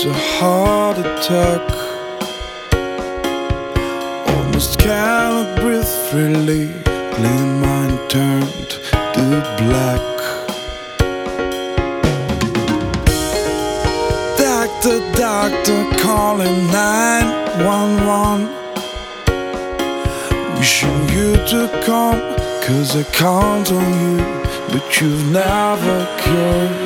a heart attack. Almost cannot breathe freely. Clear mind turned to black. Doctor, doctor, calling 911. Wishing you to come, 'cause I count on you, but you've never cured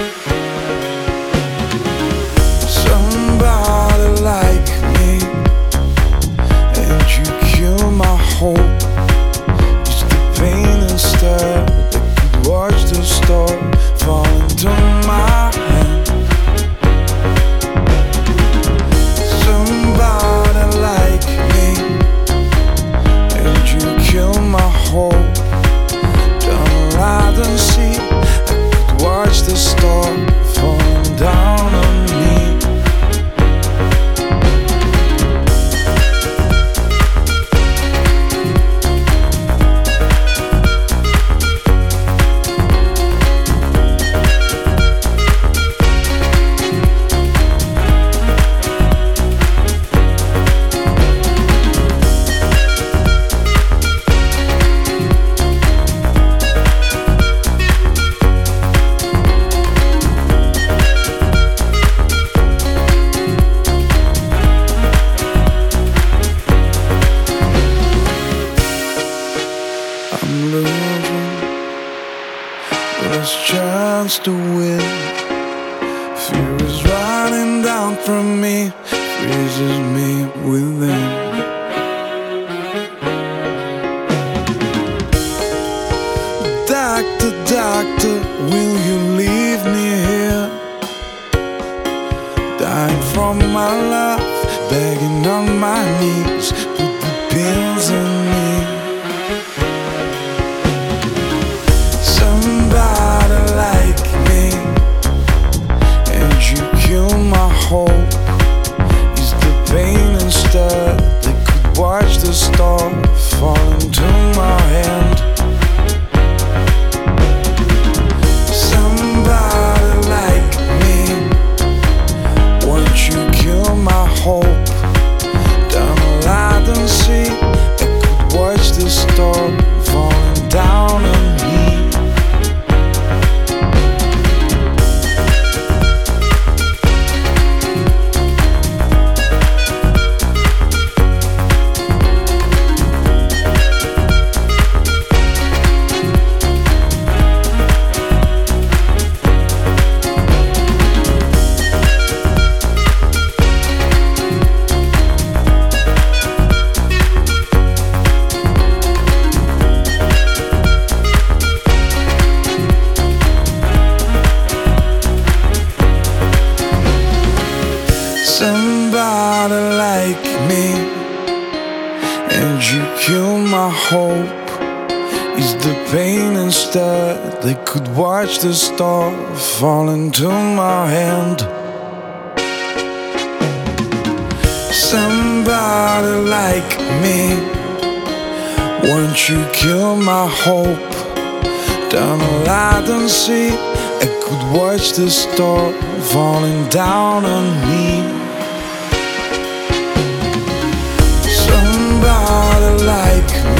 somebody like me. And you kill my hope. It's the pain instead that could watch the star fall into my hand. Somebody like me. And you kill my hope. Don't lie and see. I could watch the star falling down on me. I'm losing this chance to win. Fear is running down from me, freezes me within. Doctor, doctor, will you leave me here? Dying from my love, begging on my knees, put the pills in me. Somebody like me. And you kill my hope. Is the pain instead that could watch the star fall into my hand. Somebody like me. Won't you kill my hope? Down a light and see. I could watch the star falling down on me. Somebody like me. And you kill my hope. Is the pain instead they could watch the star fall into my hand. Somebody like me. Won't you kill my hope? Down a light and see. I could watch the star falling down on me. Somebody like me.